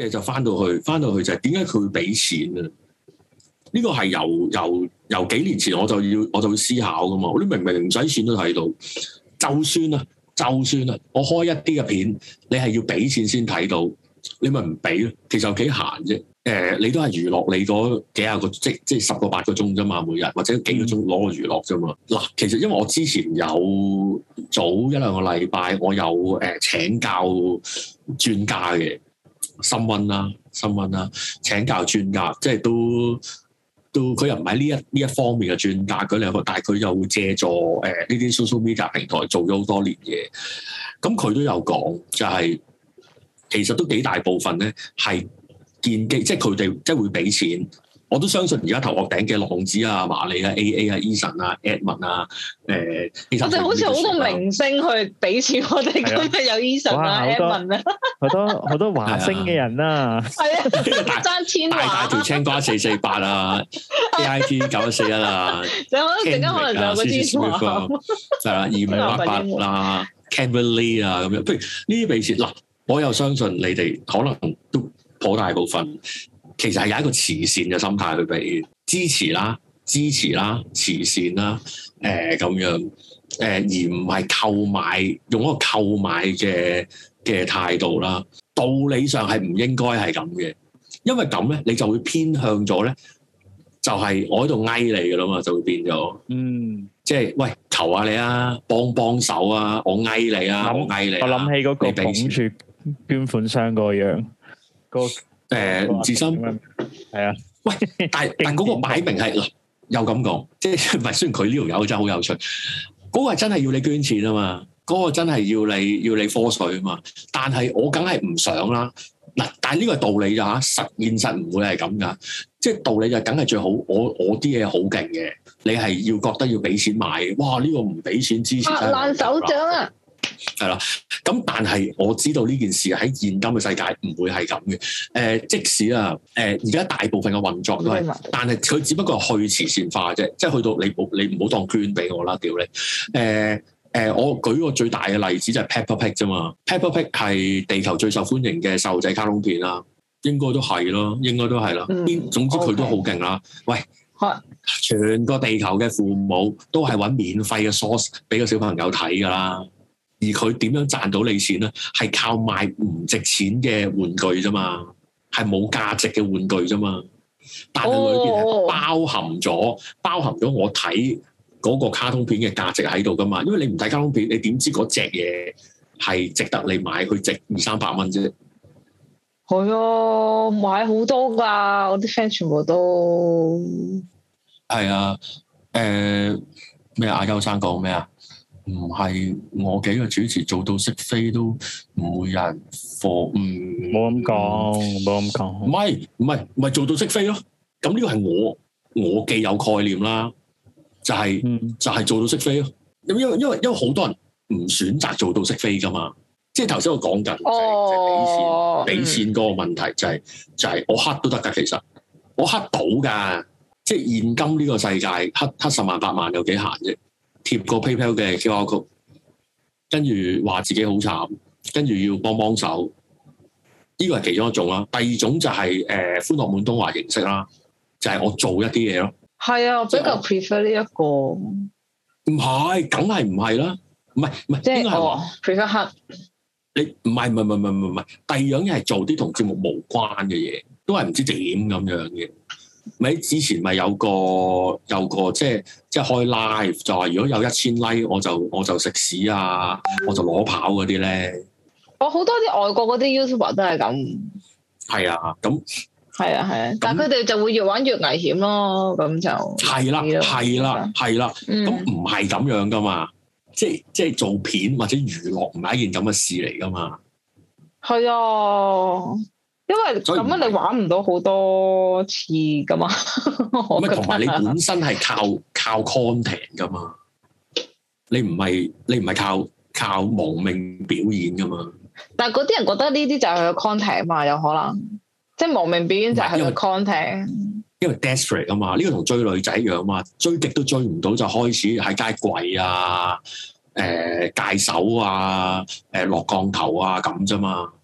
嘢就翻到去就係點解佢會俾錢啊？呢個係由幾年前我就要思考噶嘛。我啲明明唔使錢都睇到，就算啊，我開一啲嘅片，你係要俾錢先睇到，你咪唔俾咯。其實有幾閒啫。你都係娛樂你嗰幾廿個，即係10個8個鐘啫嘛，每日或者幾個鐘攞個娛樂啫嘛。嗱，其實因為我之前有早1-2個禮拜，我有請教專家嘅新溫啦，請教專家，即係都佢又唔係呢一方面嘅專家，佢兩個，但係佢又會借助呢啲 social media 平台做咗好多年嘢。咁佢都有講，就係其實都幾大部分咧係建基，即係佢哋即係會俾錢。我都相信而家頭殼頂嘅浪子啊、麻利啊、AA 啊、Eason 啊、Edmond 啊，我哋好似好多明星去俾錢我哋，今日有 Eason 啊、Edmond 啊， 好多華星嘅人啊， 係啊，爭千華， 大條青瓜448啊，AIT 9141啊， 就可能陣間可能就有嗰啲華， 係啦，2588啦 ，Kimberly 啊咁樣，譬如呢啲俾錢嗱，我又相信你哋可能都頗大部分。其實係有一個慈善嘅心態去俾支持啦、慈善啦，咁樣，而唔係購買，用一個購買嘅態度啦。道理上係唔應該係咁嘅，因為咁咧，你就會偏向咗咧，就係我喺度翳你噶啦嘛，就會變咗，即係喂，求下你啊，幫手啊，我翳你啊，我翳你。我諗起嗰個捧住捐款箱個樣，吳志森係啊，喂，但嗰個擺明係嗱，又咁講，即係唔係？雖然佢呢條友真係好有趣，嗰個係真係要你捐錢啊嘛，嗰個真係要你科水啊嘛，但係我梗係唔想啦。嗱，但係呢個係道理咋嚇，現實唔會係咁噶，即係道理就梗係最好。我啲嘢好勁嘅，你係要覺得要俾錢買，哇！呢個唔俾錢支持真係爛手掌啊！ 係啦，咁但係我知道呢件事喺現今嘅世界唔會係咁嘅。即使啊，而家大部分嘅運作都係，但係佢只不過係去慈善化啫，即係去到你唔好當捐俾我啦，屌你！我舉個最大嘅例子就係 Peppa Pig 啫嘛 ，Peppa Pig 係地球最受歡迎嘅細路仔卡通片啦，應該都係咯，總之佢都好勁啦。喂，全個地球嘅父母都係揾免費嘅 source 俾個小朋友睇㗎啦。而佢點樣賺到你錢咧？係靠賣唔值錢嘅玩具啫嘛，係冇價值嘅玩具啫嘛。但係裏邊係包含咗我睇嗰個卡通片嘅價值喺度噶嘛。因為你唔睇卡通片，你點知嗰隻嘢係值得你買？佢值200-300蚊啫。 係啊，買好多㗎，我啲 friend 全部都係啊。咩阿優生講咩啊？唔係我幾個主持做到識飛都唔會有人貨，冇咁講，唔係做到識飛咯。咁呢個係我既有概念啦，就係做到識飛咯。因為好多人唔選擇做到識飛噶嘛。即係頭先我講緊就係俾錢嗰個問題，就係我黑都得噶。其實我黑到噶，即係現今呢個世界黑10萬8萬有幾閒啫。貼個 PayPal 嘅 QR code，跟住話自己好慘，跟住要幫手，呢個係其中一種啦。第二種就係歡樂滿東華形式啦，就係我做一啲嘢咯。係啊，我比較 prefer 呢一個。唔係，梗係唔係啦，唔係，即係我 prefer 黑。你唔係，第二樣嘢係做啲同節目無關嘅嘢，都係唔知點咁樣嘅。咪之前咪有個即係開 live 就話如果有1000 like 我就食屎啊，我就攞跑嗰啲咧。我好多啲外國嗰啲 YouTuber 都係咁。係啊，咁係啊，但係佢哋就會越玩越危險咯，咁就係啦，咁唔係咁樣噶嘛，即係做片或者娛樂唔係一件咁嘅事嚟噶嘛。係啊。因為咁樣你玩唔到好多次噶嘛，同埋你本身係靠 content 噶嘛，你唔係靠亡命表演噶嘛。但係嗰啲人覺得呢啲就係佢 content 嘛，有可能即係亡命表演就係佢 content。因為 desperate 啊嘛，呢個同追女仔一樣嘛，追極都追唔到就開始喺街跪啊，戒手啊，落降頭啊咁啫嘛。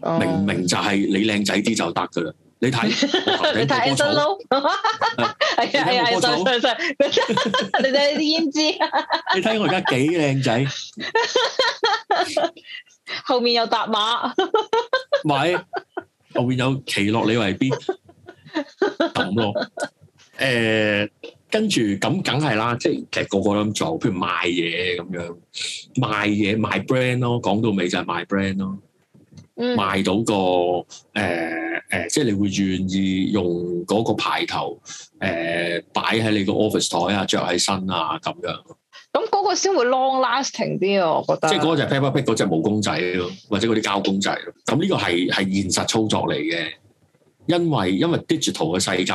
明唔明就係你靚仔啲就得噶啦。你睇你睇 Anson Lo， 係啊，你睇啲胭脂， 你睇我而家幾靚仔， 後面有搭馬， 咪後面有奇洛李維 B 咁咯。跟住咁梗係啦，即係其實個個都咁做，譬如賣嘢咁樣，賣嘢賣 brand 咯，講到尾就係賣 brand 咯。賣到個即係你會願意用嗰個牌頭擺喺你個 office 台啊，着喺身啊咁樣。咁嗰個先會 long lasting 啲啊，我覺得。即係嗰個就係 Peppa Pig 嗰隻毛公仔咯，或者嗰啲膠公仔咯。咁呢個係現實操作嚟嘅，因為 digital 嘅世界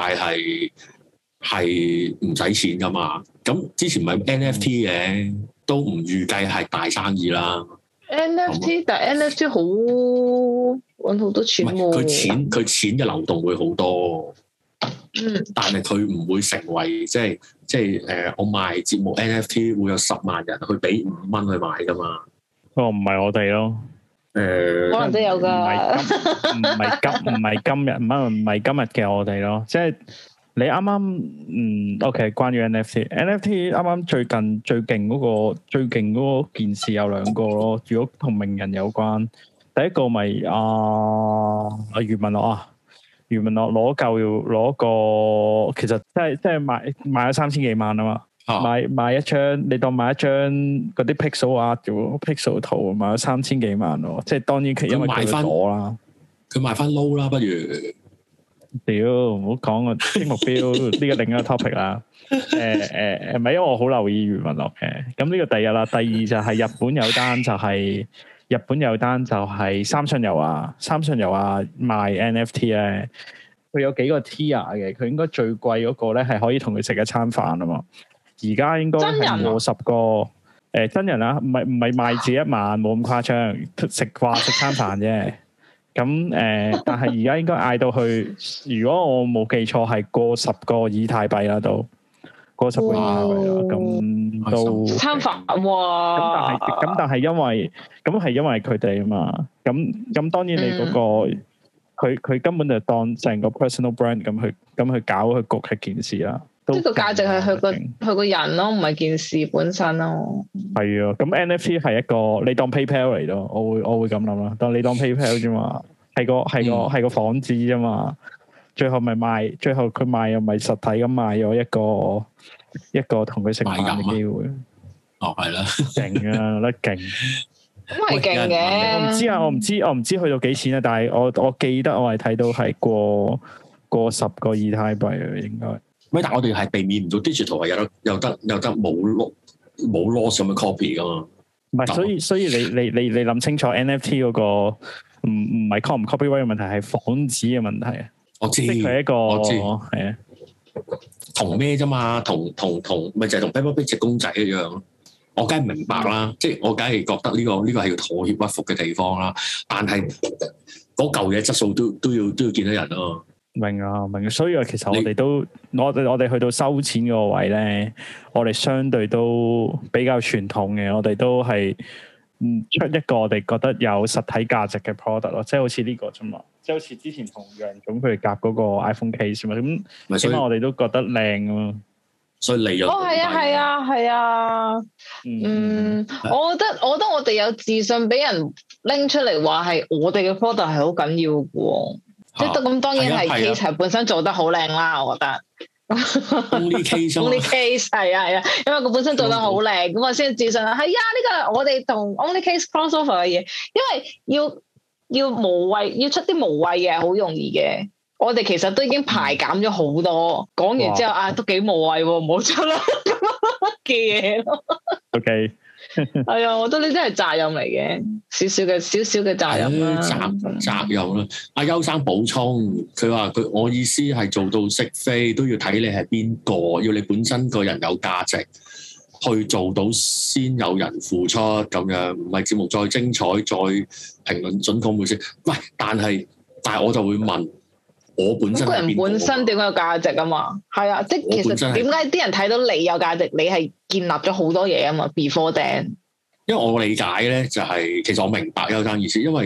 係唔使錢噶嘛。咁之前咪 NFT 嘅，都唔預計係大生意啦。NFT 但係 NFT 好搵好多錢喎，佢錢嘅流動會好多，但係佢唔會成為即係我賣節目 NFT 會有10萬人去俾5蚊去買噶嘛？ 唔係我哋咯， 可能都有噶， 唔係今日嘅我哋咯，即係。你啱啱OK， 關於 NFT 啱啱最勁嗰個件事有2個咯。如果同名人有關，第一個咪余文樂啊，余文樂攞個，其實即係買咗3000幾萬啊嘛，買一張，你當買一張嗰啲 pixel 啊，pixel 圖買咗3000幾萬咯，即係當然因為佢攞啦，佢賣翻 low 啦，不如。屌，唔好講個目標呢個另一個 topic 啦。唔係因為我好留意余文樂嘅。咁呢個第一啦，第二就係日本有單就係三信游啊賣 NFT 咧，佢有幾個 tier 嘅，佢應該最貴嗰個咧係可以同佢食一餐飯啊嘛。而家應該係過10個真人啊，唔係賣自己一晚，冇咁誇張，食餐飯啫。咁但係而家應該嗌到去，如果我冇記錯係過10個以太幣啦，都過10個以太幣啦，咁都餐飯哇！ 咁但係因為佢哋啊嘛，咁當然你嗰個佢根本就當成個 personal brand 咁去搞去焗係件事啦。呢個價值係佢個人咯，唔係件事本身咯。係啊，咁 NFT 係一個你當 PayPal 嚟咯，我會咁諗啦。當你當 PayPal 啫嘛，係個幌子啫嘛。最後佢賣又咪實體咁賣咗一個同佢食飯嘅機會。哦，係啦，勁啊，得勁。咁係勁嘅。我唔知去到幾錢啊，但係我記得我係睇到係過10個以太幣啊，應該。但係我哋係避免唔到 digital 係有得冇 loss 咁嘅 copy 噶嘛？唔係，所以你諗清楚 NFT 嗰個唔係 copy 唔 copyright 嘅問題，係幌子嘅問題啊！我知，佢係一個係啊，同咩啫嘛？同咪就係同 Peppa Pig 隻公仔一樣。我梗係明白啦，即係我梗係覺得呢個係要妥協屈服嘅地方啦。但係嗰嚿嘢質素都要見到人咯。明啊，所以其實我哋去到收錢嗰個位咧，我哋相對都比較傳統嘅，我哋都係出一個我哋覺得有實體價值嘅 product 咯，即係好似呢個啫嘛，即係好似之前同楊總佢哋夾嗰個 iPhone case 嘛，咁起碼我哋都覺得靚啊，所以利潤係啊，我覺得我哋有自信俾人拎出嚟話係我哋嘅 product 係好緊要嘅喎。即係咁，當然係 case 本身做得好靚啦，我覺得。Only case 係啊，因為佢本身做得好靚，咁我先自信啦。係啊，呢個我哋同 Only Case crossover 嘅嘢，因為要無謂，要出啲無謂嘅，好容易嘅。我哋其實都已經排減咗好多，講完之後都幾無謂喎，唔好出啦咁嘅嘢咯。OK。係啊，我覺得呢啲係責任嚟嘅，少少嘅責任啦。責任啦。阿優生補充，佢話我意思係做到識飛都要睇你係邊個，要你本身個人有價值，去做到先有人付出咁樣，唔係節目再精彩再評論準確冇先。喂，但係我就會問。我本身個人本身點解有價值啊嘛？係啊，即係其實點解啲人睇到你有價值，你係建立咗好多嘢啊嘛。Before then，因為我理解咧就係、其實我明白優生意思，因為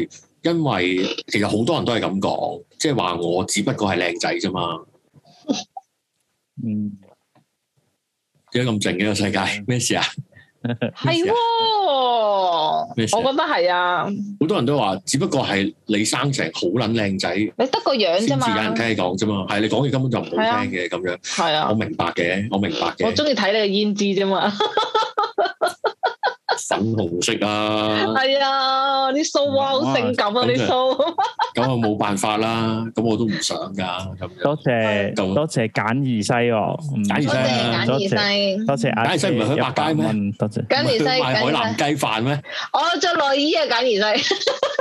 因為其實好多人都係咁講，即係話我只不過係靚仔啫嘛。 嗯， 點解咁靜嘅個世界？咩事啊？ 係喎，我覺得係啊。 好多人都話，只不過係你生成好撚靚仔，你得個樣啫嘛， 先至有人聽你講啫嘛。係你講嘢根本就唔好聽嘅咁樣。係啊，我明白嘅。我中意睇你嘅胭脂啫嘛。粉紅色啊，係啊，啲鬚啊好性感啊，啲鬚。咁啊冇辦法啦，咁我都唔想噶咁樣。 多謝簡二西喎， 簡二西， 多謝簡二西唔係去百佳咩？多謝簡二西， 賣海南雞飯咩？ 我着內衣啊，簡二西。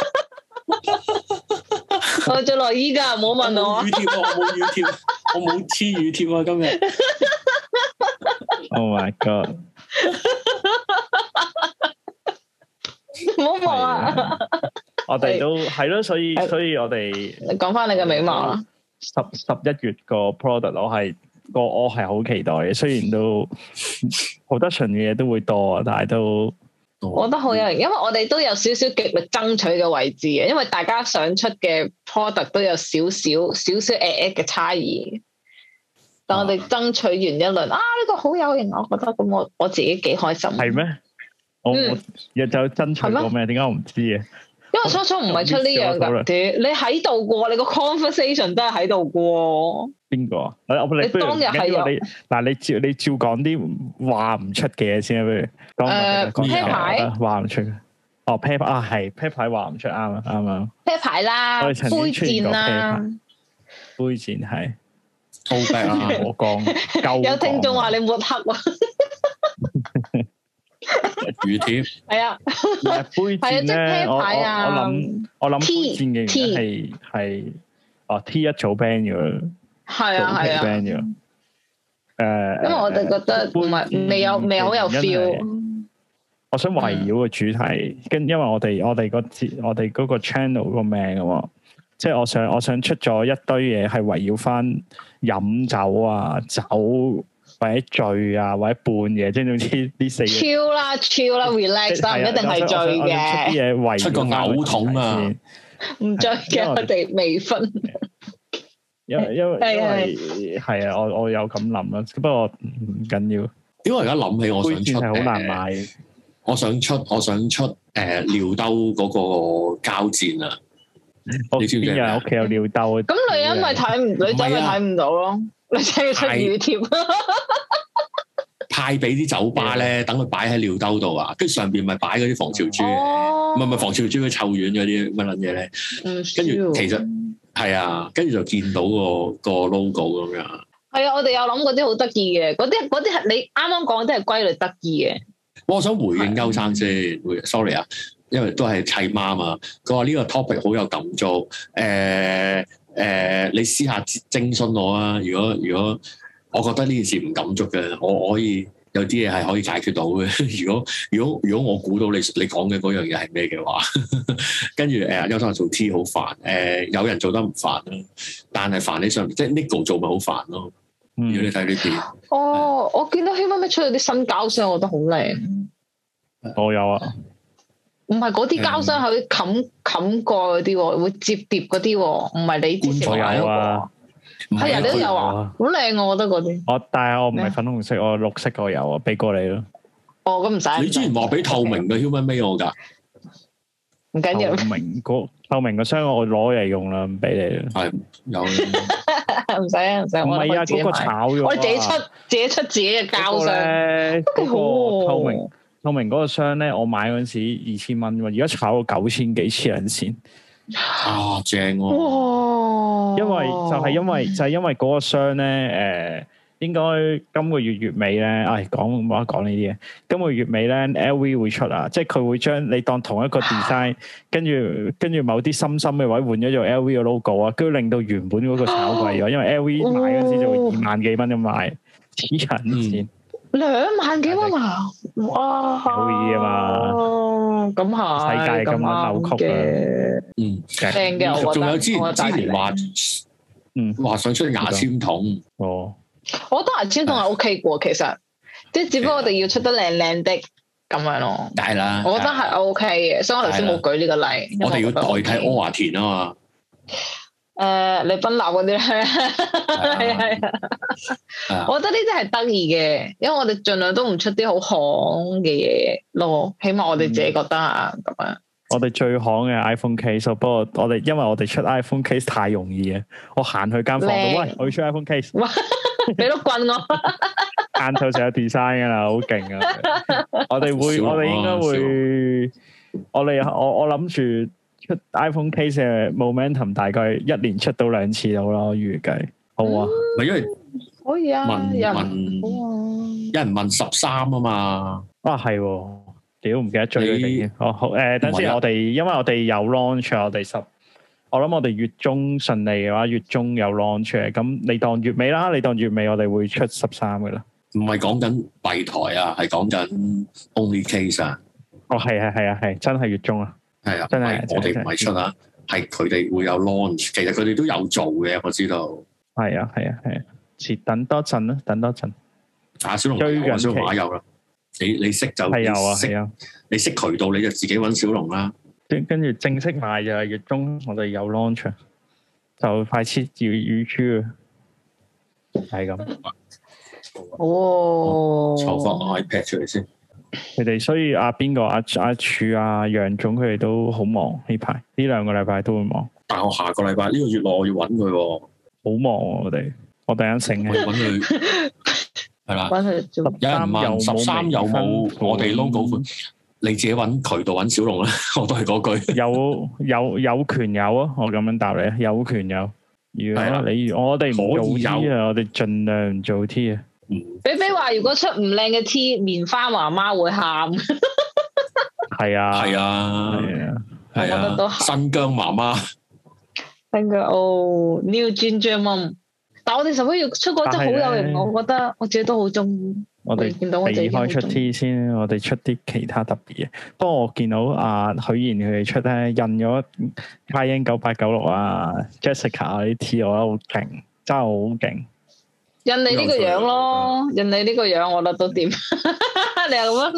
我着內衣噶，唔好問我。 乳貼我冇乳貼，我冇黐乳貼啊今日。 Oh my god！ 唔好望啊！ 我哋都係咯，所以我哋講翻你嘅美貌啦。 11月個 product 我係好期待嘅，雖然都好多純嘅嘢都會多啊，但係都我覺得好有型，因為我哋都有少少極力爭取嘅位置嘅，因為大家想出嘅 product 都有少少嘅差異。但我哋爭取完一輪呢個好有型，我覺得咁我自己幾開心。 係咩？我日就爭取過咩？點解我唔知嘅？ 因為初初唔係出呢樣噶，你喺度過，你個 conversation 都係喺度過。邊個啊？你當日係有嗱，你照講啲話唔出嘅嘢先啊，不如啤牌話唔出哦，啤牌啊係啤牌話唔出，啱啊啱啊， 啤牌啦，杯戰啦， 杯戰係好病啊！我講有聽眾話你抹黑喎。 乳貼係啊， 杯戰咧，我諗杯戰嘅係T 一早 ban 咗，係啊 ban 咗。 因為我哋覺得唔係未好有 feel。 我想圍繞個主題，因為我哋嗰個 channel 個名啊嘛，即係我想出咗一堆嘢係圍繞翻飲酒啊酒。或者醉啊，或者半夜，即係總之呢四個。超啦 relax 啦，唔一定係醉嘅。 出個嘔桶啊！ 唔醉嘅，我哋未瞓。 因為係啊，我有咁諗啦，不過唔緊要。 因為而家諗起，我想出係好難買。 我想出尿兜嗰個膠墊啊！你知唔知邊人屋企有尿兜？ 咁女人咪睇唔，女仔咪睇唔到咯。你真係出乳貼， 派俾啲酒吧咧，等佢擺喺尿兜度啊，跟住上邊咪擺嗰啲防潮珠，唔係防潮珠嗰臭丸嗰啲乜撚嘢咧，跟住其實係啊，跟住就見到個 logo 咁樣。 係啊，我哋有諗過啲好得意嘅，嗰啲係你啱啱講嗰啲係歸類得意嘅。 我想回應歐生先，sorry 啊，因為都係契媽嘛，佢話呢個 topic 好有感觸，你私下徵詢我啊！如果我覺得呢件事唔感觸嘅，我可以有啲嘢係可以解決到嘅。如果我估到你講嘅嗰樣嘢係咩嘅話，跟住優生做 T 好煩，有人做得唔煩啦，但係煩你上即係 Nico 做咪好煩咯。如果你睇呢邊， 我見到 Human Made 出咗啲新膠箱，我覺得好靚。 我有啊。 唔係嗰啲膠箱係冚過嗰啲，會接碟嗰啲，唔係你之前買嗰個。係人都有啊，好靚我覺得嗰啲。但係我唔係粉紅色，我綠色個有啊，俾過你咯。咁唔使。 你之前話俾透明嘅 Human Made 我㗎， 唔緊要。 透明個箱我攞嚟用啦，唔俾你啦。係有。 唔使啊，唔使。 唔係啊，嗰個炒咗。 我哋自己出自己嘅膠箱，都幾好喎。 透明嗰個箱咧，我買嗰陣時2000蚊喎，而家炒到9000幾黐人線。 啊，正喎！ 哇！ 因為嗰個箱咧，應該今個月尾咧，冇得講呢啲嘢。今個月尾咧 ，LV 會出啊，即係佢會將你當同一個 design，跟住某啲深嘅位換咗做 LV 嘅 logo 啊，跟住令到原本嗰個炒貴咗，因為 LV 買嗰陣時就會2萬幾蚊咁賣，黐人線。 2萬幾蚊啊！哇， 好易啊嘛， 咁係世界咁樣扭曲嘅，正嘅。我仲有之前話想出牙籤筒， 我覺得牙籤筒係 OK 嘅，其實即係只不過我哋要出得靚靚的， 咁樣咯。 梗係啦， 我覺得係 OK 嘅，所以我頭先冇舉呢個例。 我哋要代替柯華田啊嘛。 李斌立嗰啲咧，係啊，我覺得呢啲係得意嘅，因為我哋盡量都唔出啲好行嘅嘢咯，起碼我哋自己覺得啊咁樣。 我哋最行嘅 iPhone case， 不過因為我哋出 iPhone case 太容易嘅，我行去間房度，喂，我要出 iPhone case， 俾碌棍我， 晏晝就有 design 噶啦，好勁啊！我哋應該會，我諗住出 iPhone case 嘅 momentum 大概一年出到2次到咯，預計好啊。 咪因為可以啊， 有人問13啊嘛， 啊係。屌唔記得追佢哋好等先，因為我哋有 launch， 我諗我哋月中順利嘅話，月中有 launch 嘅，咁你當月尾啦，我哋會出13嘅啦。 唔係講緊幣台啊，係講緊 only case 啊。 哦，係，真係月中啊。係啊，真係我哋唔係出啊，係佢哋會有 launch， 其實佢哋都有做嘅，我知道。係啊，等多陣啦，阿小龍有，小龍馬有啦。你識就係有啊，係啊，你識渠道你就自己揾小龍啦。 跟住正式賣就係月中，我哋有 launch， 就快切要預出啊，係咁。 哦， 籌翻 iPad 出嚟先。 佢哋所以阿柱啊楊總佢哋都好忙呢排，呢2個禮拜都會忙。 但我下個禮拜呢個月內我要揾佢喎，好忙啊！我突然間醒起揾佢。係啦，有人問13有冇我哋 logo 款，你自己揾渠道揾小龍啦，我都係嗰句。有權有啊，我咁樣答你，有權有。如果我哋唔做 T 啊，我哋盡量唔做 T 啊。 比比話如果出唔靚嘅 T， 棉花媽媽會喊。 係啊， 我覺得都新疆媽媽。 新疆New Ginger Mom。但我哋11月出嗰真好有型，我覺得我自己都好中意。 我哋見到我哋開出 T 先，我哋出啲其他特別嘅。不過我見到許賢佢哋出咧印咗 Cayenne 9896啊 Jessica 啲 T， 我覺得好勁，真係好勁。 印你呢個樣咯，印你呢個樣，我覺得都掂。你又咁樣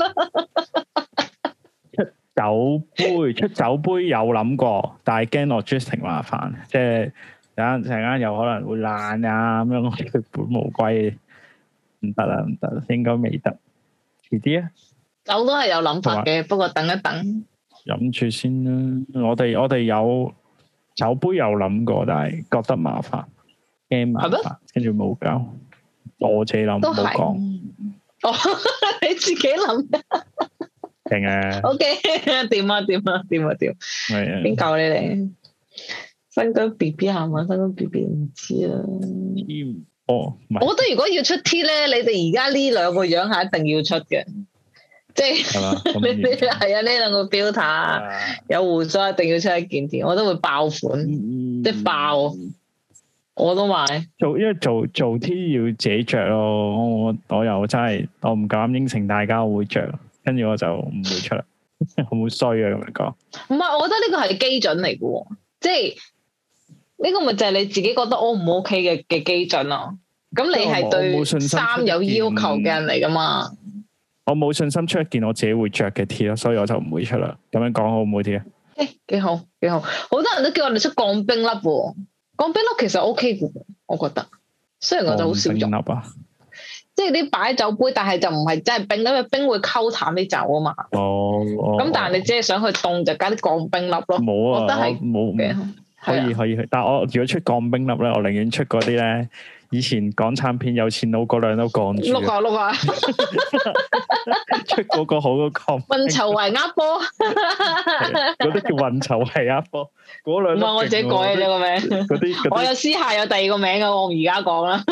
咯？ 出酒杯有諗過，但係驚 logistic 麻煩，即係。陣間有可能會爛啊咁樣，我哋本無歸，唔得啦，應該未得，遲啲啊。 酒都係有諗法嘅，不過等一等。 飲住先啦，我哋有酒杯有諗過，但係覺得麻煩，驚麻煩，跟住冇搞，我自己諗冇講。 你自己諗。 勁啊 ！OK， 掂啊！係啊，邊夠你哋？新疆 BB 係嘛？新疆 BB 唔知啦。我覺得如果要出 T 咧，你哋而家呢2個樣係一定要出嘅，即係你係啊呢2個 filter 有鬍鬚一定要出一件 T， 我都會爆款，即係爆，我都買。 因為做 T 要自己着咯，我又真係我唔敢應承大家我會着，跟住我就唔會出啦，好衰啊咁樣講。 唔係，我覺得呢個係基準嚟嘅，即係。呢個咪就係你自己覺得 O 唔 OK 嘅基準咯。咁你係對衫有要求嘅人嚟噶嘛？ 我冇信心出一件我自己會着嘅 T 咯，所以我就唔會出啦。咁樣講好唔好啲啊？ 幾好。好多人都叫我哋出鋼冰粒喎，鋼冰粒其實 OK 嘅，我覺得。雖然我就好少用啊，即係啲擺酒杯，但係就唔係真係冰，因為冰會溝淡啲酒啊嘛。咁但係你只係想去凍，就加啲鋼冰粒咯。冇啊，我覺得係冇嘅。 可以，但係我如果出鋼冰粒咧，我寧願出嗰啲咧，以前港產片有錢佬嗰兩都鋼住。碌啊！出嗰個好個鋼。 運籌帷幄波。 嗰啲叫運籌帷幄波。嗰兩。唔係我自己改嘅啫個名。嗰啲。我有私下有第2個名嘅，我而家講啦。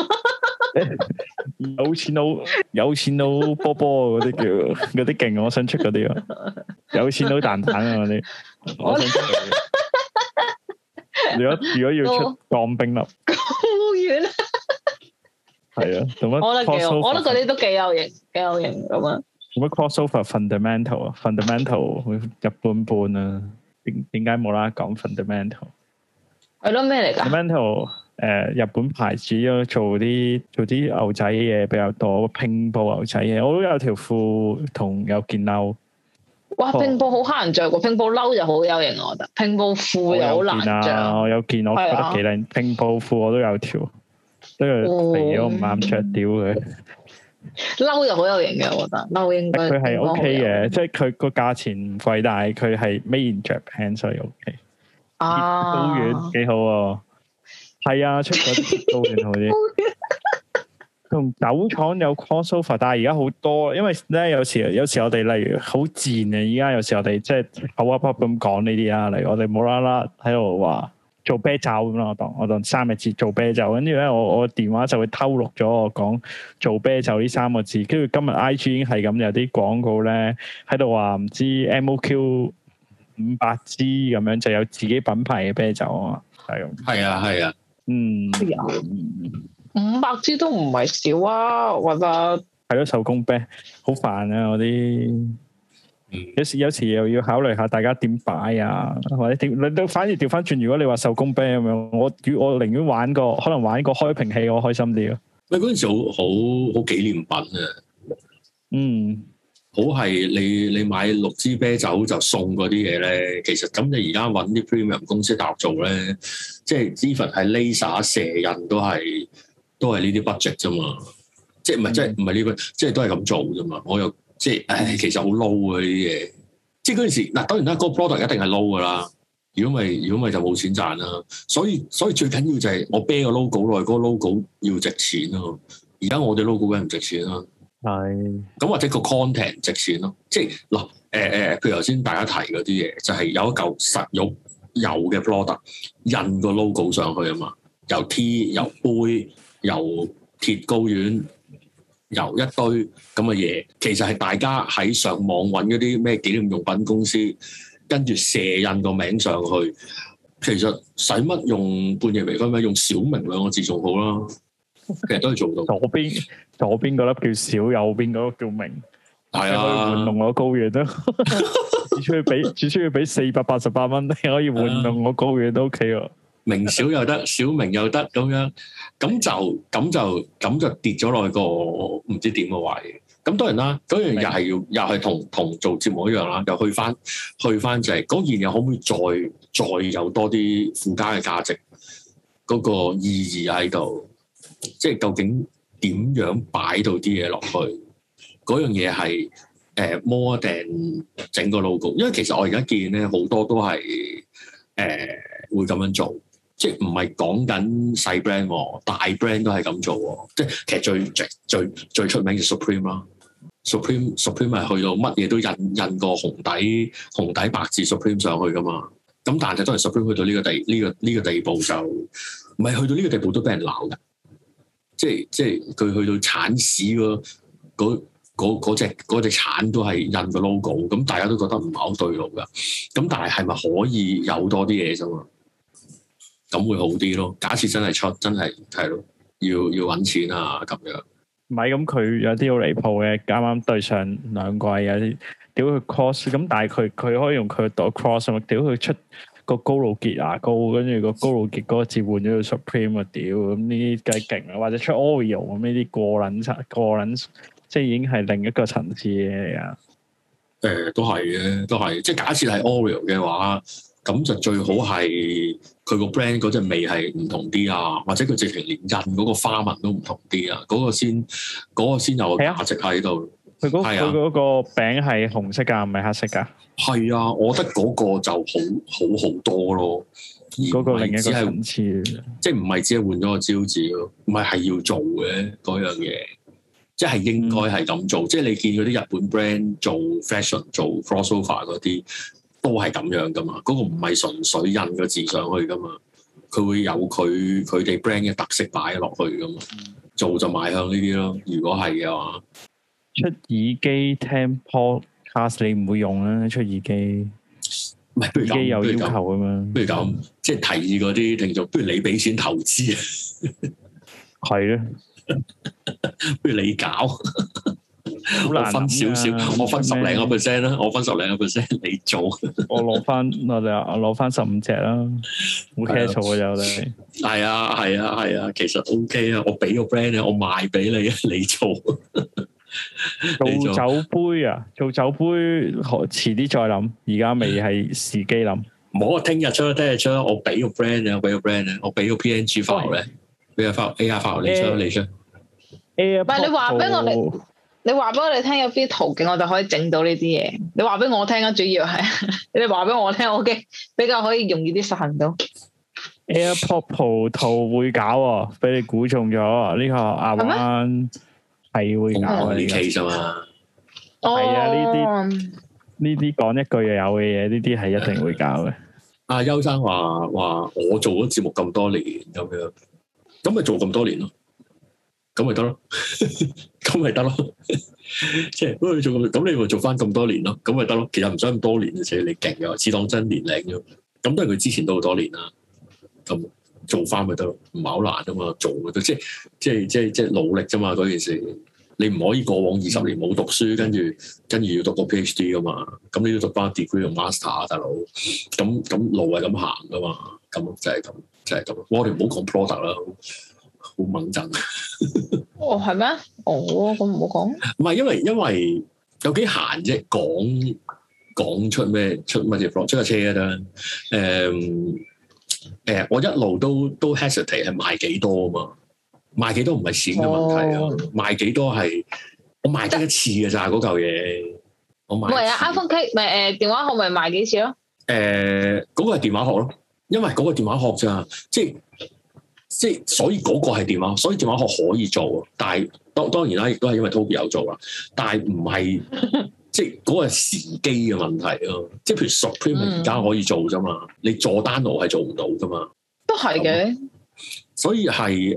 有錢佬波波嗰啲叫嗰啲勁，我想出嗰啲啊！有錢佬蛋蛋啊嗰啲，我想出嗰啲。如果要出鋼冰粒，好遠啊！係啊，做乜？我覺得幾好，我覺得嗰啲都幾有型咁啊！ 做乜 crossover fundamental 啊 ？fundamental 會一般般啊？點解冇啦啦講 fundamental？ 係咯，咩嚟㗎？ 日本牌子咯，做啲牛仔嘢比較多，拼布牛仔嘢，我都有條褲同有件褸。 哇！拼布好乞人着喎，拼布褸就好有型，我覺得。拼布褲又好難着。 我有件我覺得幾靚，拼布褲我都有條，都係肥咗唔啱着，屌佢。 褸又好有型嘅，我覺得褸應該。 佢係 OK 嘅，即係佢個價錢唔貴，但係佢係 Made in Japan，所以 OK。高原幾好喎，係啊，出嗰啲高原好啲。同酒廠有 crossover，但係而家好多，因為咧有時我哋例如好賤啊，而家有時我哋即係口噏噏咁講呢啲啊，例如我哋冇啦啦喺度話做啤酒咁啦，我當3個字做啤酒，跟住咧我電話就會偷錄咗我講做啤酒呢3個字，跟住今日 IG 已經係咁有啲廣告咧喺度話唔知 MOQ 500支咁樣就有自己品牌嘅啤酒啊嘛，係咁。 係啊， 嗯。 500支都唔係少啊，我覺得係咯，手工啤好煩啊！嗰啲有時又要考慮下大家點擺啊，或者點你都反而調翻轉。如果你話手工啤咁樣，我寧願可能玩個開瓶器，我開心啲咯。 喂，嗰陣時好紀念品啊！好係你買6支啤酒就送嗰啲嘢咧，其實咁你而家揾啲 premium 公司大陸做咧，即係 even 係 laser 射印都係呢啲 budget 啫嘛，即係唔係呢個，即係都係咁做啫嘛。我又即係其實好 low 啊呢啲嘢。即係嗰陣時嗱，當然啦，嗰個 product 一定係 low 噶啦。如果咪就冇錢賺啦。所以最緊要就係我啤個 logo 落去，嗰個 logo 要值錢咯。而家我哋 logo 梗係唔值錢啦。係。咁或者個 content 值錢咯。即係嗱譬如頭先大家提嗰啲嘢，就係有一嚿實肉有嘅 product 印個 logo 上去啊嘛，由 T 由杯。由鐵高丸，由一堆咁嘅嘢，其實係大家喺上網揾嗰啲咩紀念用品公司，跟住射印個名上去。其實使乜用半夜微醺咩？用小明2個字仲好啦。其實都係做到。左邊嗰粒叫小，右邊嗰個叫明。係啊，玩弄我高原咯。只需要俾488蚊，你可以玩弄我高原都 OK 喎。明小又得，小明又得咁樣，咁就跌咗落去個唔知點嘅位。咁當然啦，嗰樣又係同做節目一樣啦，又去翻就係嗰件嘢可唔可以再有多啲附加嘅價值，嗰個意義喺度，即係究竟點樣擺到啲嘢落去？嗰樣嘢係more than整個 logo， 因為其實我而家見咧好多都係會咁樣做。即係唔係講緊細 brand 喎，大 brand 都係咁做喎。即係其實最出名嘅 Supreme 啦，Supreme 係去到乜嘢都印個紅底白字 Supreme 上去噶嘛。咁但係當然 Supreme 去到呢個地步就唔係去到呢個地步都俾人鬧嘅。即係佢去到鏟屎嗰隻鏟都係印個 logo， 咁大家都覺得唔係好對路噶。咁但係咪可以有多啲嘢啫嘛？咁會好啲咯。假設真係出，真係係咯，要揾錢啊咁樣。唔係咁，佢有啲好離譜嘅。啱啱對上2季有啲屌佢 cross， 咁但係佢可以用佢度 cross 啊嘛。屌佢出個高露潔牙膏，跟住個高露潔嗰個字換咗個 Supreme 啊！屌咁呢啲梗係勁啦。或者出 Oreo 咁呢啲過撚，即係已經係另一個層次嘅嘢嚟啊。都係嘅，都係。即係假設係 Oreo 嘅話。咁就最好係佢個 brand 嗰隻味係唔同啲啊，或者佢直情連印嗰個花紋都唔同啲啊，嗰個先有個價值喺度。佢嗰個餅係紅色㗎，唔係黑色㗎。係啊，我覺得嗰個就好多咯。嗰個另一個層次，即係唔係只係換咗個招字咯？唔係要做嘅嗰樣嘢，即係應該係咁做。即係你見嗰啲日本 brand 做 fashion 做 crossover 嗰啲。都係咁樣噶嘛，嗰個唔係純粹印個字上去噶嘛，佢會有佢哋 brand 嘅特色擺落去噶嘛，做就邁向呢啲咯。如果係嘅話，出耳機聽 podcast 你唔會用啦，出耳機唔係，不如咁，有要求咁樣，不如咁，即係提議嗰啲聽眾，不如你俾錢投資啊，係啊，不如你搞。我分少少，我分10零個 percent 啦，我分10零個 percent 你做，我攞翻15隻啦，冇 cash 嘅就你。 係啊，其實 OK 啊，我俾個 brand 你，我賣俾你啊，你做。 做酒杯啊，做酒杯遲啲再諗，而家未係時機諗。 唔好啊，聽日出，我俾個 brand 啊，我俾個 PNG file 咧，俾個 AR file 你出。 唔係你話俾我哋，你話俾我哋聽有啲途徑，我就可以整到呢啲嘢。你話俾我聽啊，主要係你話俾我聽，OK，比較可以容易啲實行到。 AirPod Pro 圖會搞喎，俾你估中咗呢個阿灣係會搞嘅 case 嘛。 係啊，呢啲講一句又有嘅嘢，呢啲係一定會搞嘅。 阿邱生話我做咗節目咁多年咁樣，咁咪做咁多年咯，咁咪得咯，咁咪得咯，即係咁你咪做翻咁多年咯，咁咪得咯。其實唔使咁多年，而且你勁嘅，只當真年齡啫。咁都係佢之前都好多年啦。咁做翻咪得咯，唔係好難啊嘛，做嘅都即係努力啫嘛，嗰件事你唔可以過往20年冇讀書，跟住要讀個 PhD 噶嘛，咁你要讀翻 degree 同 master 啊，大佬，咁路係咁行噶嘛，咁就係咁。我哋唔好講 product 啦，好猛震。 哦，係咩？哦，咁唔好講。 唔係因為有幾閒啫，講出乜嘢 product 出架車啊得。我一路都 hesitate 係賣幾多啊嘛，賣幾多唔係錢嘅問題啊，賣幾多係我賣得一次嘅咋嗰嚿嘢，我賣。唔係啊 ，iPhone K 咪電話殼咪賣幾次咯？ 嗰個係電話殼咯，因為嗰個電話殼咋，即係所以嗰個係電話，所以電話殼可以做，但係當然啦，亦都係因為 Toby 有做啦，但係唔係。即係嗰個時機嘅問題咯，即係譬如 Supreme 而家可以做啫嘛，你佐丹奴係做唔到噶嘛， 都係嘅。 所以係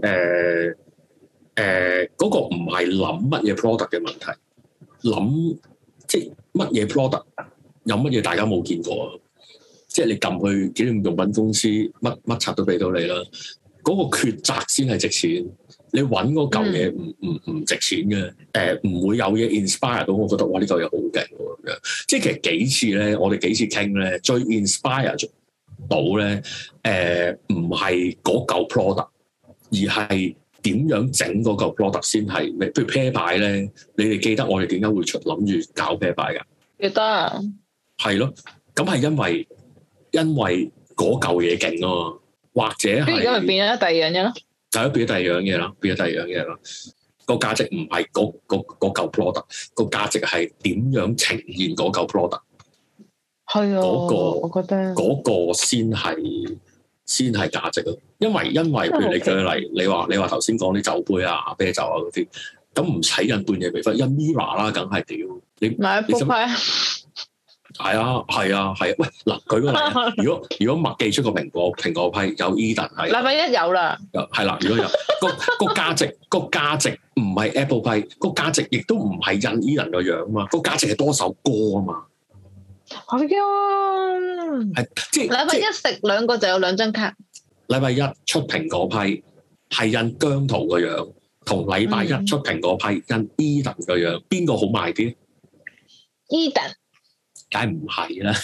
嗰個唔係諗乜嘢 product 嘅問題，諗即係乜嘢 product 有乜嘢大家冇見過啊？即係你撳去紀念用品公司，乜柒都俾到你啦，嗰個抉擇先係值錢。你揾嗰嚿嘢唔值錢嘅，唔會有嘢 inspire 到，我覺得哇呢嚿嘢好勁喎咁樣。即係其實幾次咧，我哋幾次傾咧，最 inspire 到咧，唔係嗰嚿 product，而係點樣整嗰嚿 product 先係咩？譬如啤牌咧，你哋記得我哋點解會諗住搞啤牌㗎？ 記得。係咯，咁係因為嗰嚿嘢勁啊嘛，或者係。而家咪變咗第二樣嘢咯。 就變咗第二樣嘢啦，個價值唔係嗰嚿 product，個價值係點樣呈現嗰嚿 product。係啊，我覺得嗰個先係價值咯。因為譬如你舉例，你話頭先講啲酒杯啊、啤酒啊嗰啲，咁唔使印半夜微分，印 Mirror 啦，梗係屌你買一副牌。係啊，喂，嗱，舉個例，如果麥記出個蘋果批有 Eden 係，禮拜一有啦，係啦，如果有個價值唔係 Apple 批，個價值亦都唔係印 Eden 個樣啊嘛，個價值係多首歌啊嘛，係啊，係即係禮拜一食兩個就有2張卡，禮拜一出蘋果批係印姜濤個樣，同禮拜一出蘋果批印 Eden 個樣，邊個好賣啲 ？Eden。梗係唔係啦，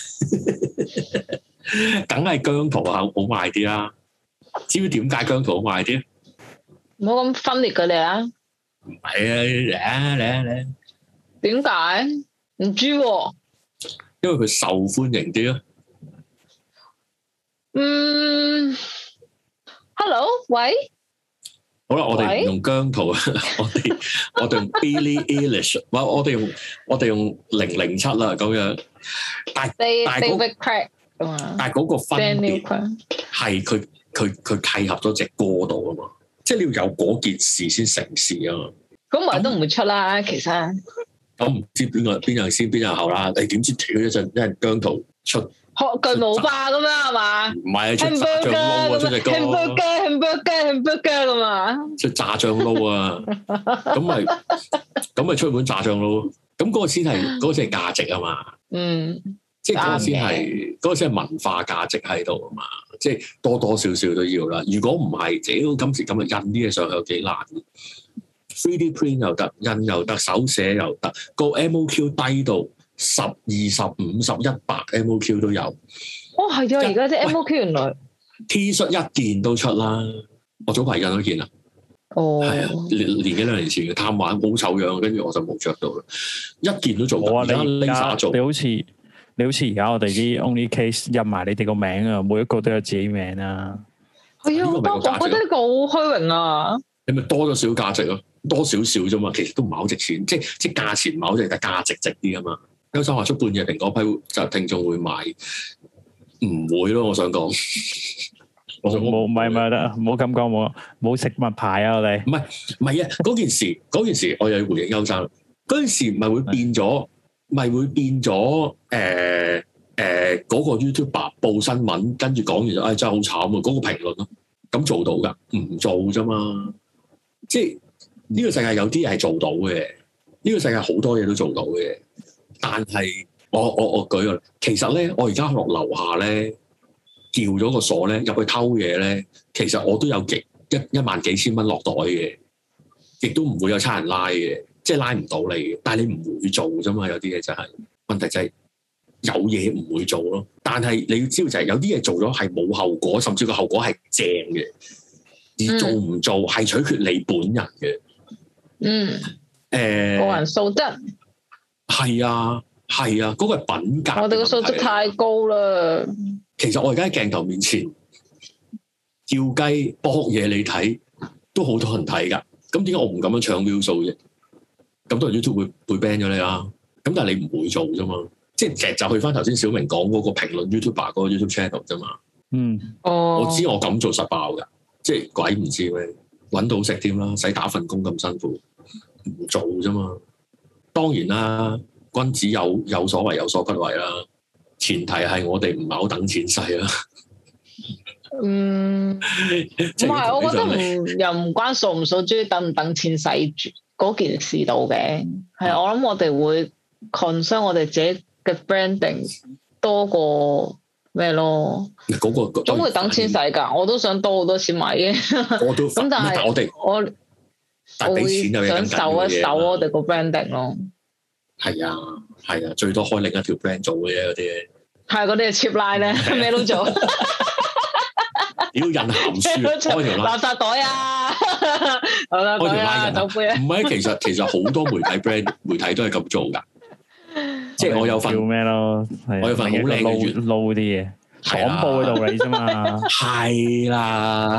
梗係姜濤好賣啲啦。知唔知點解姜濤好賣啲？唔好咁分裂佢哋啊！唔係啊，嚟！點解？唔知喎。因為佢受歡迎啲咯。Hello， 喂。好啦，我哋唔用姜濤，我哋用 Billie Eilish， 我哋用007啦，咁樣。但係嗰個分別係佢契合咗隻歌度啊嘛，即係你要有嗰件事先成事啊嘛。咁咪都唔會出啦，其實。咁唔知邊樣先邊樣後啦？你點知跳一陣姜濤出？學巨無霸咁樣係嘛？唔係出炸醬撈啊！出隻歌 hamburger 咁啊！出炸醬撈啊！咁咪出本炸醬撈，咁嗰個先係價值啊嘛！即係嗰個先係文化價值喺度啊嘛！即係多少少都要啦。如果唔係，今時今日印啲嘢上去有幾難 ？3D print 又得，印又得，手寫又得，個 MOQ 低到10、20、50、100 MOQ 都有。哦，係啊！而家啲 MOQ 原來 T 恤一件都出啦，我早排印咗件啦。 哦， 係啊，年幾兩年前嘅貪玩，好醜樣，跟住我就冇着到啦。一件都做到，而家 Lisa 做。 你好似而家我哋啲 Only Case 印埋你哋個名啊，每一個都有自己名啊。 係啊，我覺得呢個好虛榮啊。 你咪多咗少價值咯，多少少啫嘛，其實都唔係好值錢，即係價錢唔係好值，但係價值值啲啊嘛。優生話出半夜蘋果批就聽眾會買，唔會咯，我想講。冇唔係得，冇咁講，冇食物牌啊！我哋唔係啊！嗰件事，我又要回應優生。嗰件事咪會變咗，嗰個 YouTuber 報新聞，跟住講完就，真係好慘啊！嗰個評論咯，咁做到㗎，唔做啫嘛。即係呢個世界有啲嘢係做到嘅，呢個世界好多嘢都做到嘅。但係我舉個，其實咧，我而家落樓下咧。叫咗個鎖咧，入去偷嘢咧，其實我都有一萬幾千蚊落袋嘅，亦都唔會有差人拉嘅，即係拉唔到你嘅。但係你唔會做啫嘛，有啲嘢就係問題就係有嘢唔會做咯。但係你要知道就係有啲嘢做咗係冇後果，甚至個後果係正嘅，而做唔做係取決你本人嘅。 個人素質係啊，嗰個係品格。 我哋個素質太高啦。 其實我而家喺鏡頭面前叫雞搏嘢你睇，都好多人睇㗎。咁點解我唔咁樣搶 view 數啫？咁多人 YouTube 會 ban 咗你啦。咁但係你唔會做啫嘛。即係其實就去翻頭先小明講嗰個評論 YouTuber 嗰個 YouTube channel 啫嘛。我知我咁做實爆㗎，即係鬼唔知咩揾到食添啦，使打份工咁辛苦，唔做啫嘛。當然啦，君子有所為有所不為啦。前提係我哋唔係好等錢使啦。 唔係，我覺得又唔關數唔數，中意等唔等錢使嗰件事度嘅。係我諗我哋會 concern 我哋自己嘅 branding 多過咩咯？嗰個總會等錢使㗎，我都想多好多錢買嘅。我都咁，但係我會想守一守我哋個 branding 咯。 係啊，最多開另一條 brand 做嘅啫，嗰啲嘢。係嗰啲係 cheap line 咧，咩都做。 要印鹹書，開條垃圾袋啊，開條拉酒杯啊。唔係，其實好多媒體 brand 媒體都係咁做㗎。即係我有份咩咯？ 我有份好靚嘅月撈啲嘢，廣播嘅道理啫嘛。 係啦，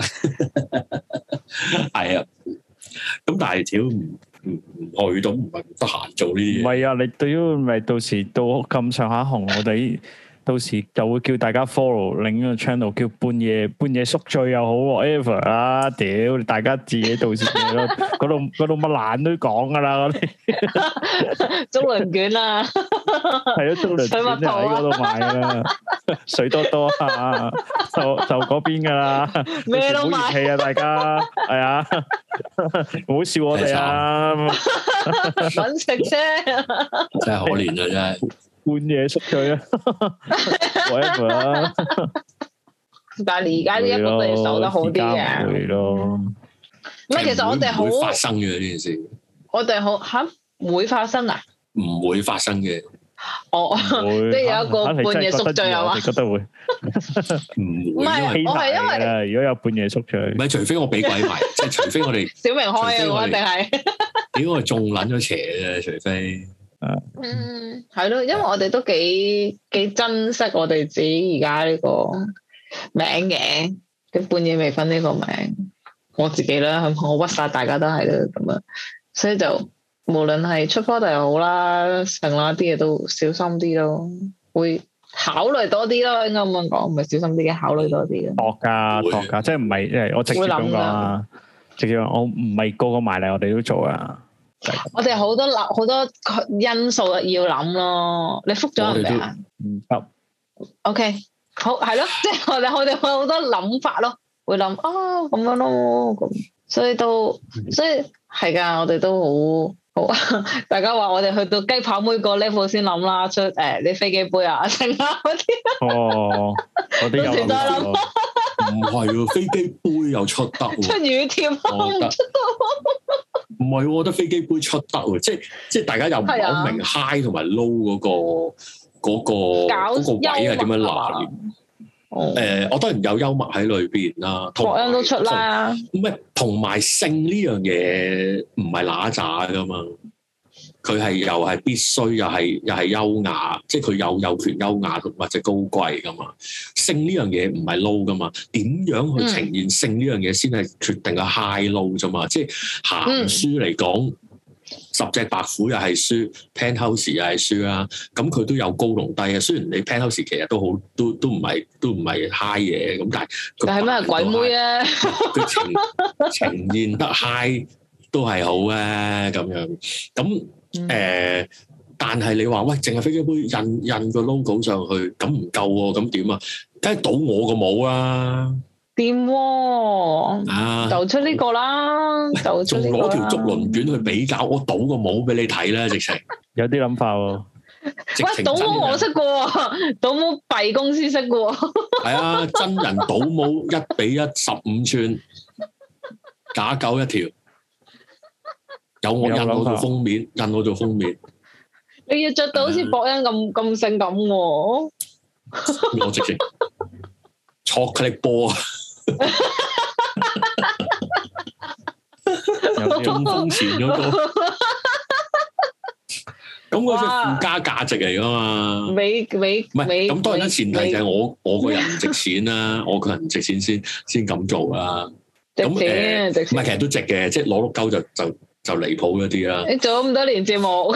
係啊。咁但係屌唔去到唔係得閒做呢啲嘢。唔係啊，你對於咪到時到咁上下紅，我哋到時就會叫大家 follow 另一個 channel， 叫半夜宿醉又好 whatever 啦。屌，大家自己到時嗰度乜爛都講噶啦，嗰啲中輪卷啊， 係咯，中輪卷就喺嗰度買啦，水多多啊，就嗰邊噶啦， 咩都買，唔好熱氣啊，大家係啊，唔好笑我哋啊， 搵食啫， 真係可憐啊，真係。 半夜宿醉啊 ，whatever 啦。 但係而家呢一個都要守得好啲嘅。 會咯。 唔係，其實我哋好會發生嘅呢件事。 我哋好吓會發生啊？ 唔會發生嘅。 哦，即係有一個半夜宿醉係嘛？ 你覺得會？ 唔係，我係因為如果有半夜宿醉， 唔係除非我俾鬼埋，即係除非我哋小明開啊，我一定係。 屌我中撚咗邪嘅，除非。 係咯，因為我哋都幾珍惜我哋自己而家呢個名嘅，嘅半夜微醺呢個名，我自己啦，我屈晒大家都係啦咁樣，所以就無論係出 product 又好啦，成啦啲嘢都小心啲咯，會考慮多啲咯，應該咁樣講，唔係小心啲嘅，考慮多啲嘅。度㗎，即係唔係，因為我直接咁講啊，直接我唔係個個埋嚟，我哋都做啊。 我哋好多因素要諗咯，你覆咗人哋啊？ 唔得。 OK，好係咯，即係我哋會好多諗法咯，會諗咁樣咯，咁所以係噶，我哋都好，大家話我哋去到雞扒妹個 level 先諗啦，出啲飛機杯啊，剩啊嗰啲。 哦，嗰啲有諗。 唔係喎，飛機杯又出得喎。 出乳貼我唔出得。 唔係，我覺得飛機杯出得喎，即係大家又唔係好明 high 同埋 low 嗰個位係點樣拿捏。 我當然有幽默喺裏邊啦， 博恩都出啦。 唔係同埋性呢樣嘢唔係揦渣噶嘛，佢係又係必須，又係優雅，即係佢有權優雅同或者高貴噶嘛。性呢樣嘢唔係 low 噶嘛，點樣去呈現性呢樣嘢先係決定個 high low 啫嘛。即係鹹書嚟講。十隻白虎又係輸 Penthouse 又係輸啦，咁佢都有高同低啊。雖然你 Penthouse 其實都好，都唔係 high 嘢，咁但係咩鬼妹啊？ 佢呈現得 high 都係好啊，咁樣咁但係你話喂，淨係飛機杯印個 logo 上去，咁唔夠喎，咁點啊？梗係倒我個帽啦！ 掂喎，就出呢個啦，就出呢個啦。仲攞條竹輪卷去比較，我倒個帽俾你睇啦，直情有啲諗法喎。 喂，倒帽我識嘅喎，倒帽弊公司識嘅喎。 係啊，真人倒帽1:15寸，假狗一條，有我印我做封面，印我做封面。 你要着到好似博恩咁性感喎。 我直情chocolate波啊！中風前嗰個，咁嗰隻附加價值嚟噶嘛？唔係咁，當然啦，前提就係我個人唔值錢啦，我個人唔值錢先咁做啦。咁唔係，其實都值嘅，即係攞碌鳩就離譜嗰啲啦。 你做咗咁多年節目，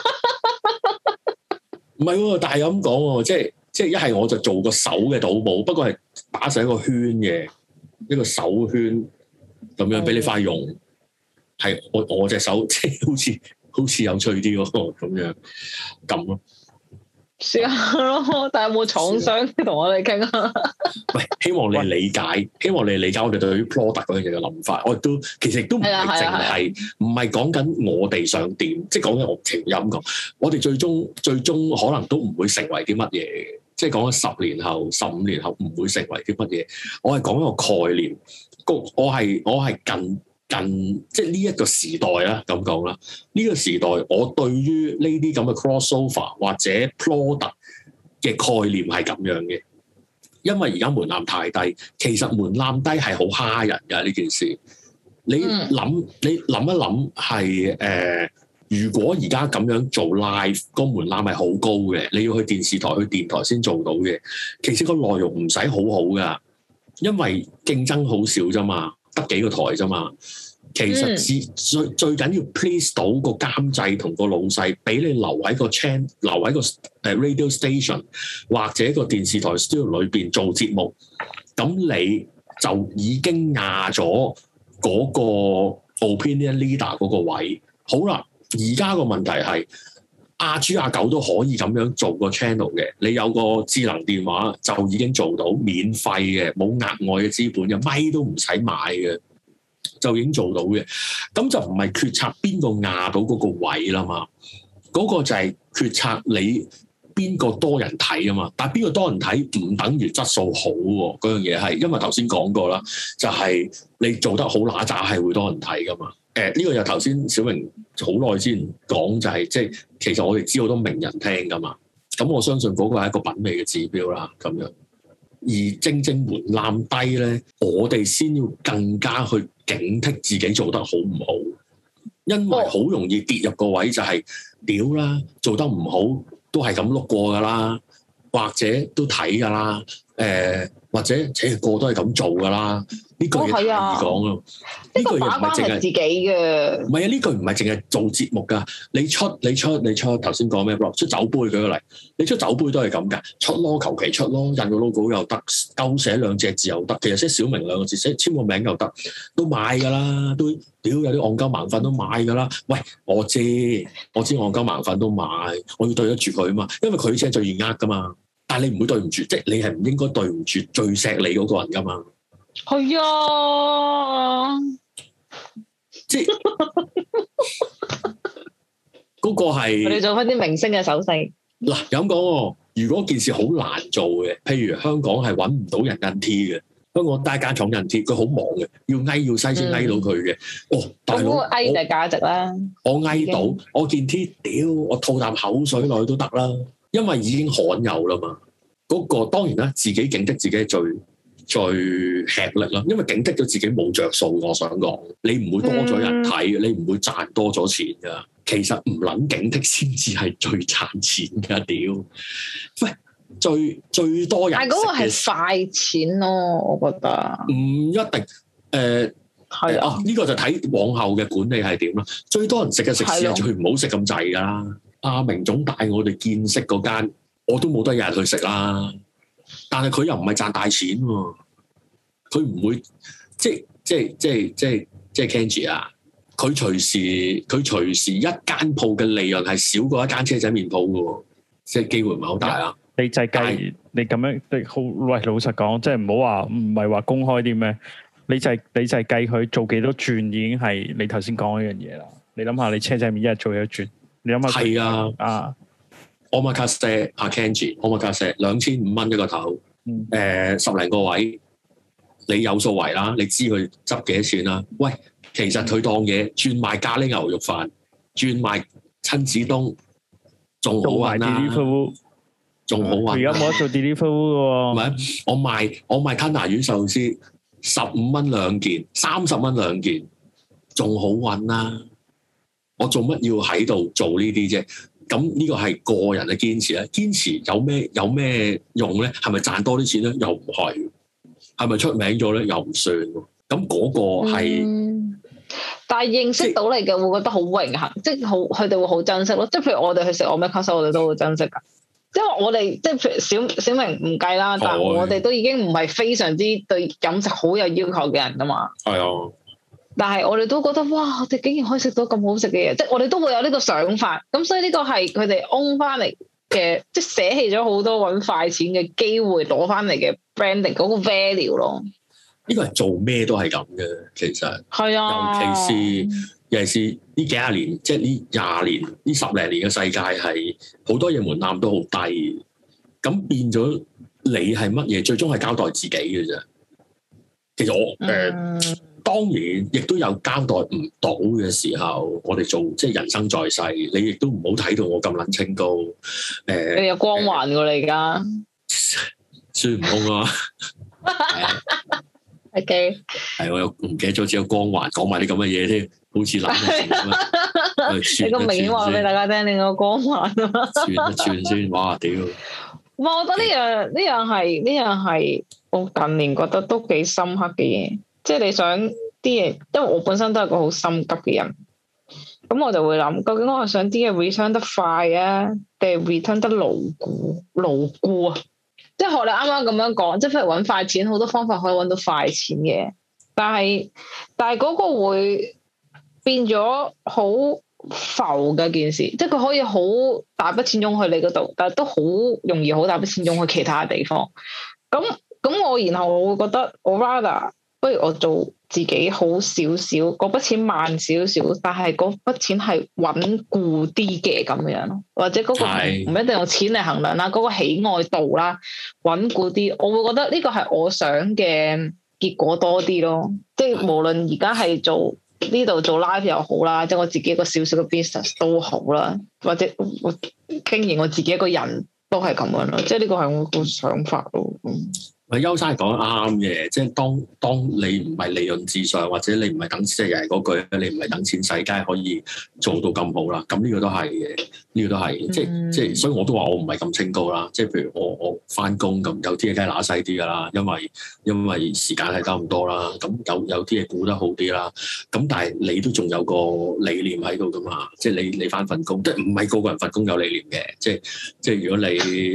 唔係喎，但係咁講喎，即係一係我就做個手嘅賭帽，不過係打成一個圈嘅一個手圈咁樣俾你快用，係我隻手即係好似有趣啲喎，咁樣咁咯。 試下咯，但係有冇廠商同我哋傾啊？ 喂，希望你理解我哋對於 product 嗰樣嘢嘅諗法。我都其實都唔係淨係唔係講緊我哋想點，即係講緊我情音講。我哋最終可能都唔會成為啲乜嘢，即係講緊10年後、15年後唔會成為啲乜嘢。我係講一個概念，我係近即係呢一個時代啦，咁講啦。呢個時代，我對於呢啲咁嘅 crossover 或者 product 嘅概念係咁樣嘅，因為而家門檻太低，其實門檻低係好蝦人㗎呢件事。你諗一諗係如果而家咁樣做 live，個門檻係好高嘅，你要去電視台、去電台先做到嘅。其實個內容唔使好好㗎，因為競爭好少啫嘛。得幾個台啫嘛，其實最緊要 please 到個監製同個老細，俾你留喺個 channel，留喺個radio station 或者個電視台 studio 裏邊做節目，咁你就已經壓咗嗰個 opinion leader 嗰個位。好啦，而家個問題係阿豬阿狗都可以咁樣做個 channel 嘅，你有個智能電話就已經做到免費嘅，冇額外嘅資本嘅，咪都唔使買嘅，就已經做到嘅。咁就唔係決策邊個壓到嗰個位啦嘛，嗰個就係決策你邊個多人睇啊嘛。但係邊個多人睇唔等於質素好喎，嗰樣嘢係因為頭先講過啦，就係你做得好揦渣係會多人睇噶嘛。呢個又頭先小明好耐之前講就係即係其實我哋知好多名人聽噶嘛，咁我相信嗰個係一個品味嘅指標啦，咁樣。而正門檻低咧，我哋先要更加去警惕自己做得好唔好，因為好容易跌入個位就係屌啦，做得唔好都係咁碌過噶啦，或者都睇噶啦，或者個個都係咁做噶啦。呢句嘢太易講咯，呢句嘢唔係淨係自己嘅。唔係啊，呢句唔係淨係做節目噶。你出頭先講咩 blog 出酒杯舉個例，你出酒杯都係咁噶，出咯，求其出咯，印個 logo 又得，勾寫2隻字又得，其實寫小明2個字，寫簽個名又得，都買噶啦，都屌有啲戇鳩盲粉都買噶啦。喂，我知戇鳩盲粉都買，我要對得住佢啊嘛，因為佢先係最易呃噶嘛。但係你唔會對唔住，即係你係唔應該對唔住最錫你嗰個人噶嘛。 係啊， 即係嗰個係我哋做翻啲明星嘅手勢。 嗱，有咁講喎，如果件事好難做嘅，譬如香港係揾唔到人印 T 嘅，香港單間廠印 T，佢好忙嘅，要篩先篩到佢嘅。大佬， 翳就係價值啦。 我翳到，我件 T，屌，我吐啖口水落去都得啦，因為已經罕有啦嘛。 嗰個當然啦，自己警惕自己係最吃力啦，因為警惕咗自己冇着數。我想講，你唔會多咗人睇，你唔會賺多咗錢噶。其實唔撚警惕先至係最賺錢噶，屌！喂，最多人，但係嗰個係快錢咯，我覺得唔一定。係啊，呢個就睇往後嘅管理係點啦。最多人食嘅食肆係最唔好食咁滯噶啦。阿明總帶我哋見識嗰間，我都冇得日日去食啦。但係佢又唔係賺大錢喎，佢唔會即係 Kenji 啊！佢隨時一間鋪嘅利潤係少過一間車仔麵鋪嘅喎，即係機會唔係好大啊！ 你就計你咁樣，好喂，老實講，即係唔好話唔係話公開啲咩，你就係計佢做幾多轉已經係你頭先講嗰樣嘢啦。你諗下，你車仔麵一日做幾多轉？你諗下係啊！Omakase 阿 Kenji，Omakase 2500蚊一個頭，10零個位，你有數為啦，你知佢執幾多錢啦？喂，其實佢當嘢轉賣咖喱牛肉飯，轉賣親子冬，仲好玩啦，仲好玩。 而家冇得做 delivery 喎。 唔係，我賣吞拿魚壽司15蚊兩件，30蚊兩件，仲好玩啦。我做乜要喺度做呢啲啫？咁呢個係個人嘅堅持咧，堅持有咩用咧？係咪賺多啲錢咧？又唔係，係咪出名咗咧？又唔算。咁嗰個係， 但係認識到你嘅會覺得好榮幸，即係好佢哋會好珍惜咯。即係譬如我哋去食Omakase，我哋都好珍惜噶。因為我哋即係譬如小明唔計啦，但係我哋都已經唔係非常之對飲食好有要求嘅人噶嘛。 係啊。 但係我哋都覺得哇，我哋竟然可以食到咁好食嘅嘢，即係我哋都會有呢個想法。咁所以呢個係佢哋 own 翻嚟嘅，即係捨棄咗好多搵快錢嘅機會，攞翻嚟嘅 branding 嗰個 value 咯。 呢個係做咩都係咁嘅，其實係啊， 尤其是呢幾廿年，即係呢20年、呢10零年嘅世界係好多嘢門檻都好低，咁變咗你係乜嘢，最終係交代自己嘅啫。其實我當然，亦都有交代唔到嘅時候，我哋做即係人生在世，你亦都唔好睇到我咁撚清高。 你有光環喎，你而家孫悟空啊 ，OK， 係我又唔記得咗，只有光環講埋啲咁嘅嘢添，好似諗咁。 你咁明顯話俾大家聽，你個光環啊！ 串先，哇屌！ 我覺得呢樣係我近年覺得都幾深刻嘅嘢。即係你想啲嘢，因為我本身都係個好心急嘅人，咁我就會諗，究竟我係想啲嘢 return 得快啊，定係 return 得牢固啊？即係學你啱啱咁樣講，即係譬如搵快錢，好多方法可以搵到快錢嘅，但係嗰個會變咗好浮嘅件事，即係佢可以好大筆錢湧去你嗰度，但係都好容易好大筆錢湧去其他地方。咁然後我會覺得我 rather。不如我做自己好少少，嗰筆錢慢少少，但係嗰筆錢係穩固啲嘅咁樣咯，或者嗰個唔一定用錢嚟衡量啦，嗰個喜愛度啦，穩固啲，我會覺得呢個係我想嘅結果多啲咯。即係無論而家係做呢度做 live 又好啦，即係我自己一個少少嘅 business 都好啦，或者我經營我自己一個人都係咁樣咯。即係呢個係我個想法咯。 邱生係講得啱嘅，即係當你唔係利潤至上，或者你唔係等錢，又係嗰句，你唔係等錢使，梗係可以做到咁好啦。咁呢個都係嘅，呢個都係，即係，所以我都話我唔係咁清高啦。即係譬如我翻工咁，有啲嘢梗係揦細啲噶啦，因為時間係得咁多啦。咁有啲嘢估得好啲啦。咁但係你都仲有個理念喺度噶嘛？即係你翻份工，即係唔係個個人份工有理念嘅。即係如果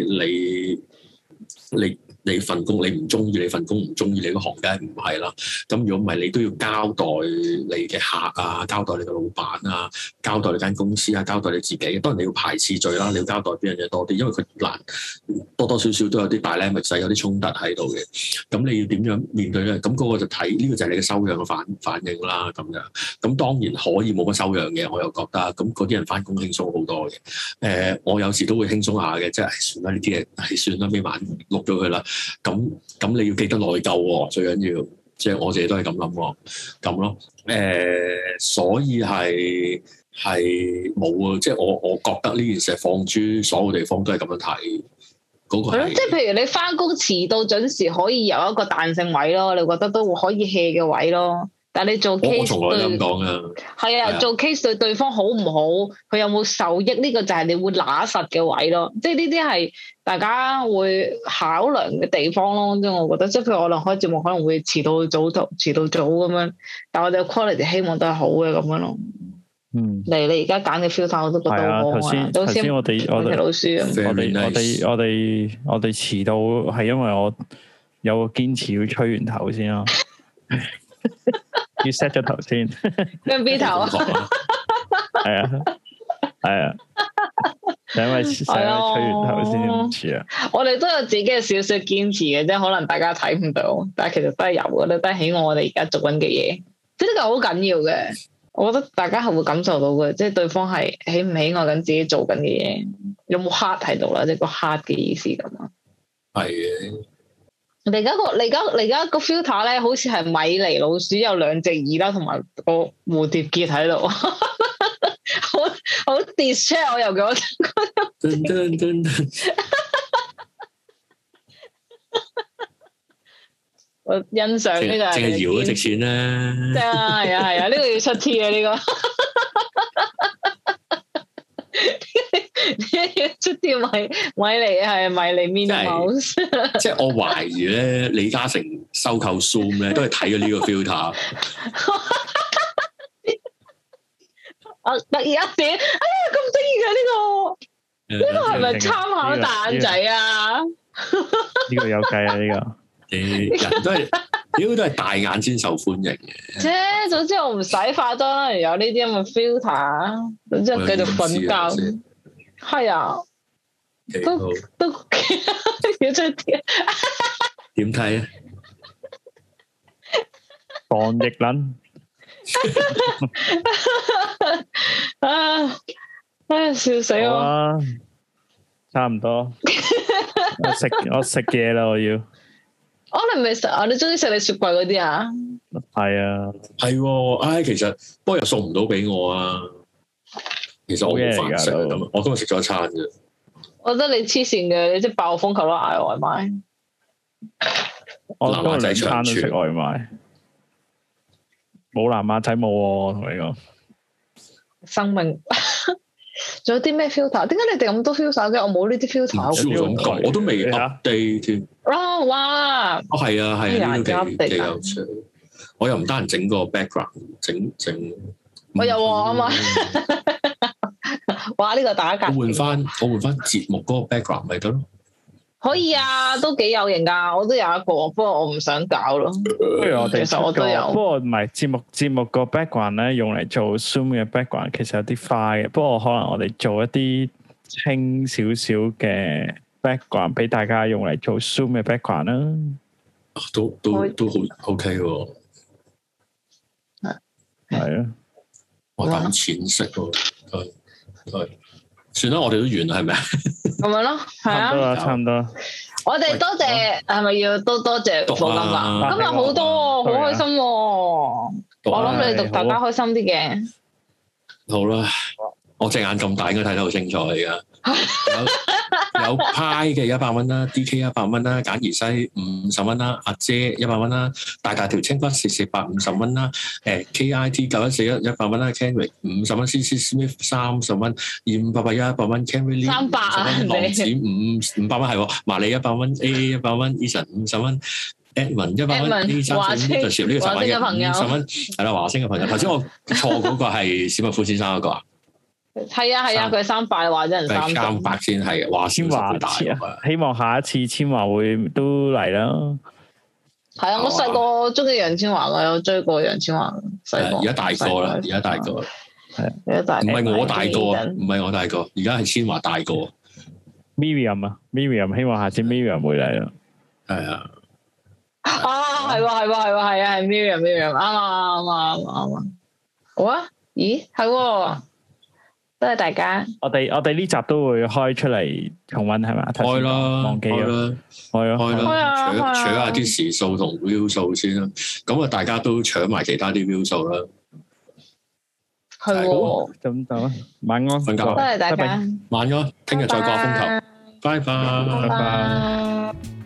你份工你唔中意，你份工唔中意，你個行梗係唔係啦。咁如果唔係，你都要交代你嘅客啊，交代你嘅老闆啊，交代你間公司啊，交代你自己。當然你要排次序啦，你要交代邊樣嘢多啲，因為佢難多少少都有啲大咧，咪使有啲衝突喺度嘅。咁你要點樣面對咧？咁嗰個就睇呢個就係你嘅修養嘅反應啦。咁樣咁當然可以冇乜修養嘅，我又覺得咁嗰啲人翻工輕鬆好多嘅。我有時都會輕鬆下嘅，即係算啦，呢啲嘢係算啦，尾晚錄咗佢啦。咁你要記得內疚喎，最緊要，即係我自己都係咁諗喎，咁咯，所以係冇啊，即係我覺得呢件事放諸所有地方都係咁樣睇， 嗰個係。 即係譬如你翻工遲到準時，可以有一個彈性位咯，你覺得都可以 hea 嘅位咯。但係你做 case 我從來都咁講啊。係啊，做 case 對對方好唔好，佢有冇受益，呢個就係你會揦實嘅位咯。即係呢啲係大家會考量嘅地方咯。即係我覺得，即係譬如我哋開節目可能會遲到早咁樣，但係我哋嘅 quality 希望都係好嘅咁樣咯。 嗯， 你而家揀嘅 filter 我都覺得好好啊。頭先我哋老師啊， 我哋遲到係因為我有個堅持要吹完頭先咯。要 set 咗頭先， 跟 B 頭啊， 係啊，就因為吹完頭先唔似啊。 我哋都有自己嘅少少堅持嘅，即係可能大家睇唔到，但係其實都係有嘅，都係喜愛我哋而家做緊嘅嘢，即係呢個好緊要嘅。我覺得大家係會感受到嘅，即係對方係喜唔喜愛緊自己做緊嘅嘢，有冇 heart 喺度啦，即係個 heart 嘅意思咁啊。係嘅。你而家個 filter 咧，好似係米妮老鼠有兩隻耳啦，同埋個蝴蝶結喺度，好 distress 我又覺得。我欣賞呢個，淨係搖都值錢啦。係啊，呢個要出 T 啊，呢個。出啲米妮係迷你 Minnie Mouse， 即係我懷疑咧，李嘉誠收購 Zoom 咧，都係睇咗呢個 filter。突然一點，哎呀咁得意嘅呢個，呢個係咪參考蛋仔啊？ 呢個有計啊！呢個人都係，屌都係大眼先受歡迎嘅。 啫，總之我唔使化妝，有呢啲咁嘅 filter，總之繼續瞓覺。係啊，都要出啲點睇啊？ 防疫撚笑死我！ 差唔多，我食嘢啦，我要。 你唔係食啊？你中意食你雪櫃嗰啲啊？ 係啊， 係，唉，其實不過又送唔到俾我啊。其實我冇飯食咁，我今日食咗一餐啫。 我覺得你黐線嘅，你即係爆風球都嗌外賣。 我今日兩餐都食外賣，冇藍馬仔冇喎，同你講。 生命仲有啲咩 filter？點解你哋咁多 filter 嘅？我冇呢啲 filter。 我都未 update 添。 哇！ 係啊，呢個幾有趣。我又唔單人整個 background，整。 我有啊嘛。哇！呢個打格， 我換翻節目嗰個 background 咪得咯？ 可以啊，都幾有型噶，我都有一個，不過我唔想搞咯。 不如我哋其實我都有， 不過唔係節目個 background 咧，用嚟做 Zoom 嘅 background 其實有啲花嘅，不過可能我哋做一啲清少少嘅 background 俾大家用嚟做 Zoom 嘅 background 啦。 都好 OK 喎。 係啊， 我等錢食喎。算啦，我哋都完啦，係咪啊？ 咁樣咯，係啊， 差唔多。 我哋多謝，係咪要多謝課金啊？今日好多，好開心。我諗你讀大家開心啲嘅。 好啦，我隻眼咁大，應該睇得好清楚而家。有派嘅100蚊啦 ，DK 100蚊啦，簡而西50蚊啦，阿姐100蚊啦，大條青骨450蚊啦，KIT 9141 100蚊啦 ，Kenry 50蚊 ，CC Smith 30蚊，2581 100蚊 ，Kenry 300啊， 浪子500蚊係，麻利100蚊 ，AA 100蚊 ，Eason 50蚊。Edwin 100蚊 ，A3 就少呢個10蚊嘅50蚊，係啦，華星嘅朋友。頭先我錯嗰個係史密夫先生嗰個啊。 係啊，佢300話咗人 300先係嘅，華先話大啊！ 希望下一次千嬅會都嚟啦。 係啊，我細個中意楊千嬅噶，有追過楊千嬅。細個而家大個啦，而家大個。 係而家大。唔係我大個，唔係我大個，而家係千嬅大個。 Miriam 啊 ，Miriam 希望下次 Miriam 會嚟啦。 係啊。 啊，係係 Miriam，啱啊。好啊？咦，係。多謝大家。我哋呢集都會開出嚟重溫係咪？ 開啦， 忘記啦， 開啦，搶下啲時數同 view 數先啦。咁啊，大家都搶埋其他啲 view 數啦。 係喎， 咁就晚安， 瞓覺。 多謝大家， 晚安，聽日再掛風球。 拜拜。 拜拜。